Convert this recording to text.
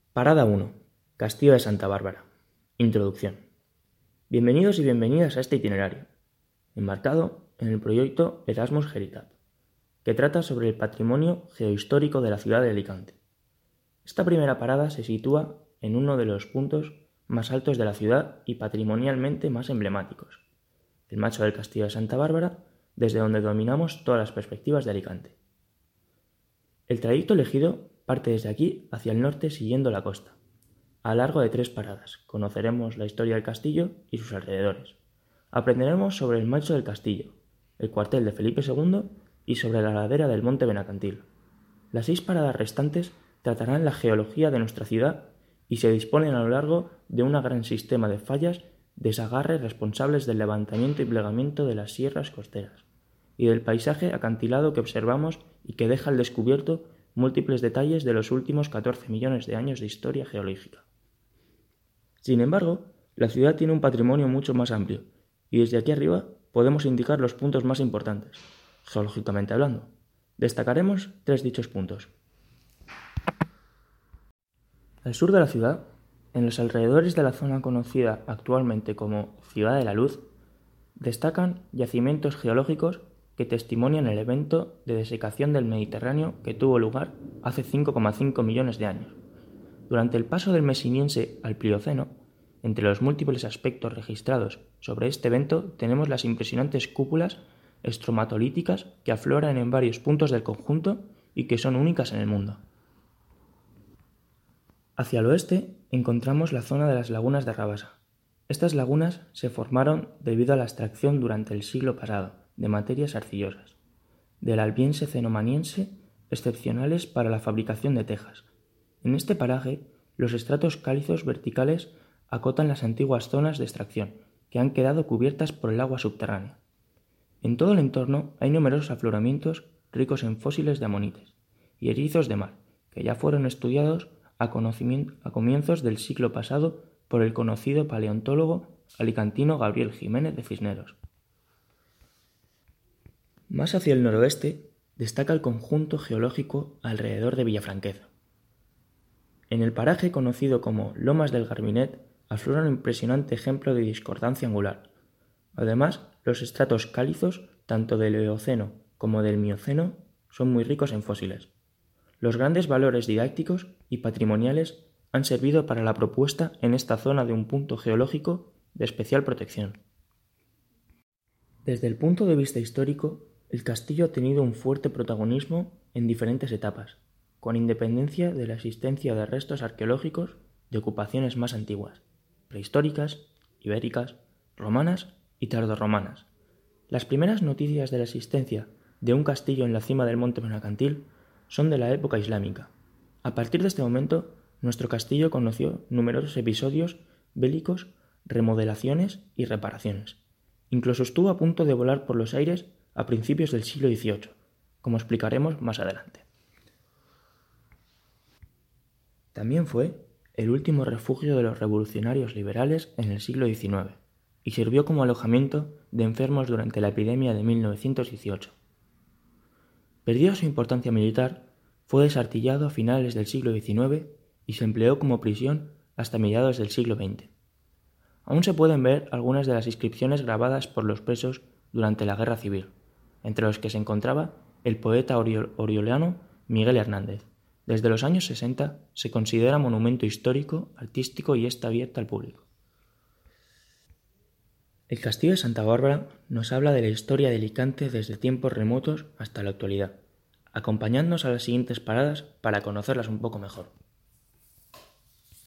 Parada 1. Castillo de Santa Bárbara. Introducción. Bienvenidos y bienvenidas a este itinerario, enmarcado en el proyecto Erasmus Heritage, que trata sobre el patrimonio geohistórico de la ciudad de Alicante. Esta primera parada se sitúa en uno de los puntos más altos de la ciudad y patrimonialmente más emblemáticos, el Macho del Castillo de Santa Bárbara, desde donde dominamos todas las perspectivas de Alicante. El trayecto elegido parte desde aquí hacia el norte siguiendo la costa. A lo largo de 3 paradas conoceremos la historia del castillo y sus alrededores. Aprenderemos sobre el Macho del Castillo, el cuartel de Felipe II y sobre la ladera del Monte Benacantil. Las 6 paradas restantes tratarán la geología de nuestra ciudad y se disponen a lo largo de un gran sistema de fallas de desgarre responsables del levantamiento y plegamiento de las sierras costeras y del paisaje acantilado que observamos y que deja al descubierto múltiples detalles de los últimos 14 millones de años de historia geológica. Sin embargo, la ciudad tiene un patrimonio mucho más amplio, y desde aquí arriba podemos indicar los puntos más importantes, geológicamente hablando. Destacaremos 3 dichos puntos. Al sur de la ciudad, en los alrededores de la zona conocida actualmente como Ciudad de la Luz, destacan yacimientos geológicos que testimonian el evento de desecación del Mediterráneo que tuvo lugar hace 5,5 millones de años. Durante el paso del Mesiniense al Plioceno, entre los múltiples aspectos registrados sobre este evento tenemos las impresionantes cúpulas estromatolíticas que afloran en varios puntos del conjunto y que son únicas en el mundo. Hacia el oeste encontramos la zona de las lagunas de Rabasa. Estas lagunas se formaron debido a la extracción durante el siglo pasado de materias arcillosas, del Albiense cenomaniense, excepcionales para la fabricación de tejas. En este paraje, los estratos calizos verticales acotan las antiguas zonas de extracción, que han quedado cubiertas por el agua subterránea. En todo el entorno hay numerosos afloramientos ricos en fósiles de amonites y erizos de mar, que ya fueron estudiados a comienzos del siglo pasado por el conocido paleontólogo alicantino Gabriel Jiménez de Cisneros. Más hacia el noroeste destaca el conjunto geológico alrededor de Villafranqueza. En el paraje conocido como Lomas del Garbinet aflora un impresionante ejemplo de discordancia angular. Además, los estratos calizos, tanto del Eoceno como del Mioceno, son muy ricos en fósiles. Los grandes valores didácticos y patrimoniales han servido para la propuesta en esta zona de un punto geológico de especial protección. Desde el punto de vista histórico, el castillo ha tenido un fuerte protagonismo en diferentes etapas, con independencia de la existencia de restos arqueológicos de ocupaciones más antiguas, prehistóricas, ibéricas, romanas y tardorromanas. Las primeras noticias de la existencia de un castillo en la cima del Monte Benacantil son de la época islámica. A partir de este momento, nuestro castillo conoció numerosos episodios bélicos, remodelaciones y reparaciones. Incluso estuvo a punto de volar por los aires a principios del siglo XVIII, como explicaremos más adelante. También fue el último refugio de los revolucionarios liberales en el siglo XIX y sirvió como alojamiento de enfermos durante la epidemia de 1918. Perdida su importancia militar, fue desartillado a finales del siglo XIX y se empleó como prisión hasta mediados del siglo XX. Aún se pueden ver algunas de las inscripciones grabadas por los presos durante la Guerra Civil, entre los que se encontraba el poeta oriolano Miguel Hernández. Desde los años 60 se considera monumento histórico, artístico y está abierto al público. El Castillo de Santa Bárbara nos habla de la historia de Alicante desde tiempos remotos hasta la actualidad, acompañándonos a las siguientes paradas para conocerlas un poco mejor.